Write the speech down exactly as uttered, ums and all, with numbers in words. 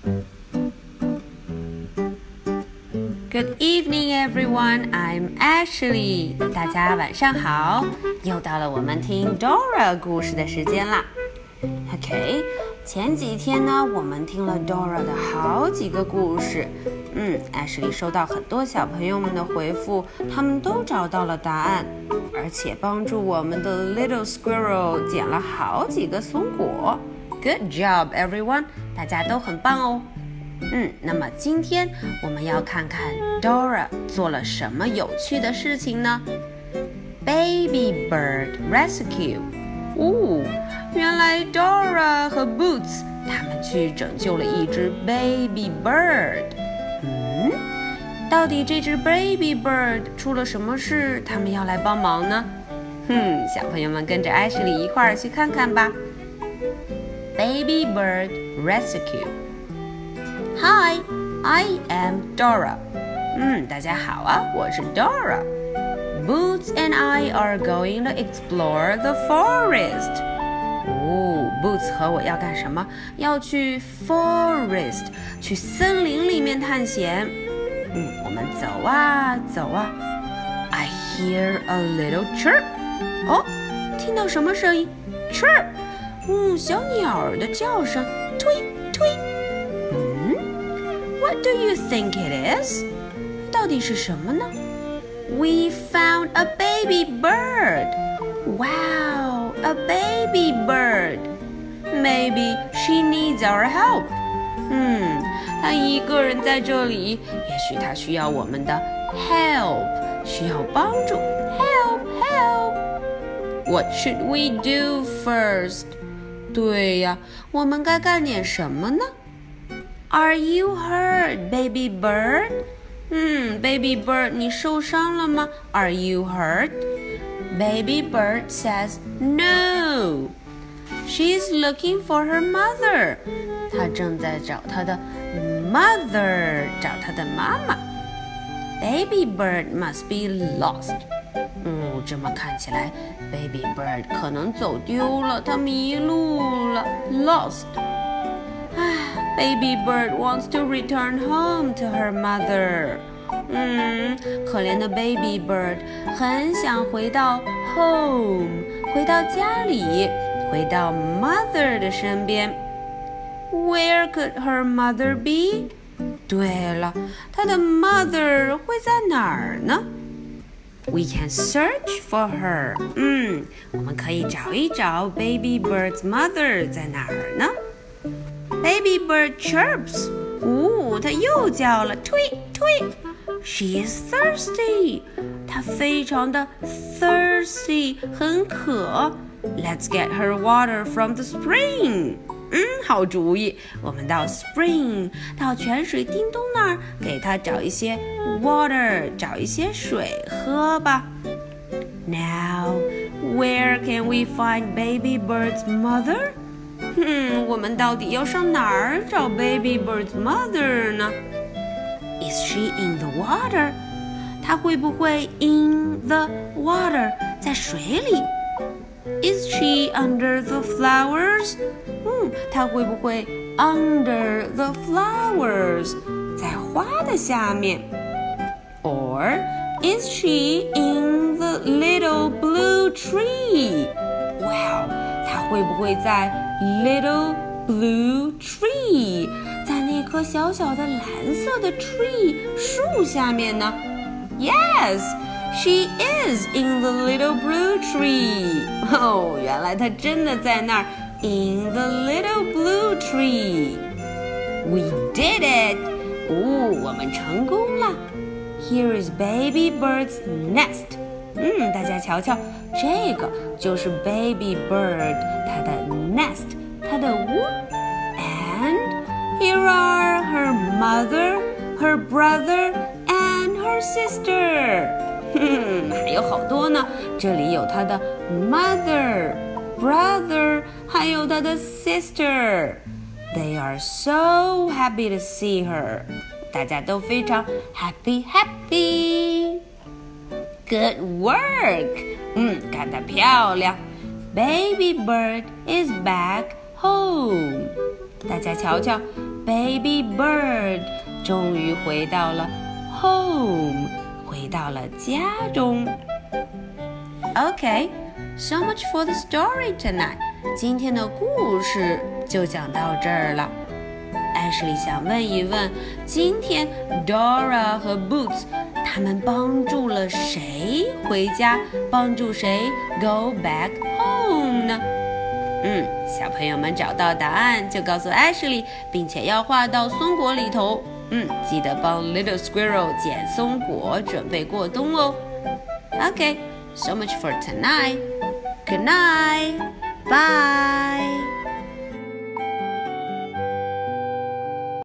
Good evening, everyone. I'm Ashley. 大家晚上好，又到了我们听 Dora 故事的时间啦。OK， 前几天呢，我们听了 Dora 的好几个故事。嗯 ，Ashley 收到很多小朋友们的回复，他们都找到了答案，而且帮助我们的 Little Squirrel 捡了好几个松果。Good job, everyone！ 大家都很棒哦。嗯，那么今天我们要看看 Dora 做了什么有趣的事情呢 ？Baby Bird Rescue。哦，原来 Dora 和 Boots 他们去拯救了一只 Baby Bird。嗯，到底这只 Baby Bird 出了什么事？他们要来帮忙呢？哼，小朋友们跟着 Ashley 一块儿去看看吧。Baby Bird Rescue。Hi, I am Dora. 嗯，大家好啊，我是 Dora. Boots and I are going to explore the forest. 哦 Boots 和我要干什么？要去 forest， 去森林里面探险。嗯，我们走啊走啊。I hear a little chirp. 哦，听到什么声音 ？Chirp. 嗯，小鸟儿的叫声，tweet tweet。What do you think it is? 到底是什么呢 ？We found a baby bird. Wow, a baby bird. Maybe she needs our help. 嗯，她一个人在这里，也许她需要我们的 help， 需要帮助。Help, help. What should we do first? 对呀，我们该干点什么呢？Are you hurt, baby bird? 嗯 ，baby bird， 你受伤了吗 ？Are you hurt? Baby bird says no. She's looking for her mother. 她正在找她的 mother， 找她的妈妈。Baby bird must be lost. 嗯，这么看起来 ，baby bird 可能走丢了，它迷路了 ，lost。Baby bird wants to return home to her mother. 嗯，可怜的 baby bird 很想回到 home， 回到家里，回到 mother 的身边。Where could her mother be? 对了，她的 mother 会在哪儿呢 ？We can search for her. 嗯，我们可以找一找 baby bird's mother 在哪儿呢？Baby bird chirps. 哦，它又叫了 tweet tweet. She is thirsty. 她非常的 thirsty， 很渴。Let's get her water from the spring. 嗯，好主意，我们到 spring， 到泉水叮咚那儿，给她找一些 water， 找一些水喝吧。Now, where can we find baby bird's mother?嗯，我们到底要上哪儿找 Baby Bird's mother 呢 ？Is she in the water? 她会不会 in the water 在水里 ？Is she under the flowers? 嗯，她会不会 under the flowers 在花的下面 ？Or is she in the little blue tree? Wow， 她会不会在Little blue tree， 在那棵小小的蓝色的 tree 树下面呢 ？Yes, she is in the little blue tree. 哦，原来她真的在那儿 in the little blue tree. We did it. 哦，我们成功了。Here is baby bird's nest. 嗯，大家瞧瞧，这个就是 baby bird 它的 nest， 它的窝。And here are her mother, her brother, and her sister. 哼，还有好多呢，这里有她的 mother, brother， 还有她的 sister. They are so happy to see her. 大家都非常 happy happy。Good work！ 嗯，干得漂亮。Baby bird is back home. 大家瞧瞧 Baby bird 终于回到了 home， 回到了家中。Okay, so much for the story tonight. 今天的故事就讲到这儿了。Ashley 想问一问，今天 Dora 和 Boots 他们帮助了谁回家，帮助谁 go back home 呢？嗯，小朋友们找到答案就告诉 Ashley， 并且要画到松果里头。嗯，记得帮 Little Squirrel 捡松果，准备过冬哦。Okay, so much for tonight. Good night. Bye.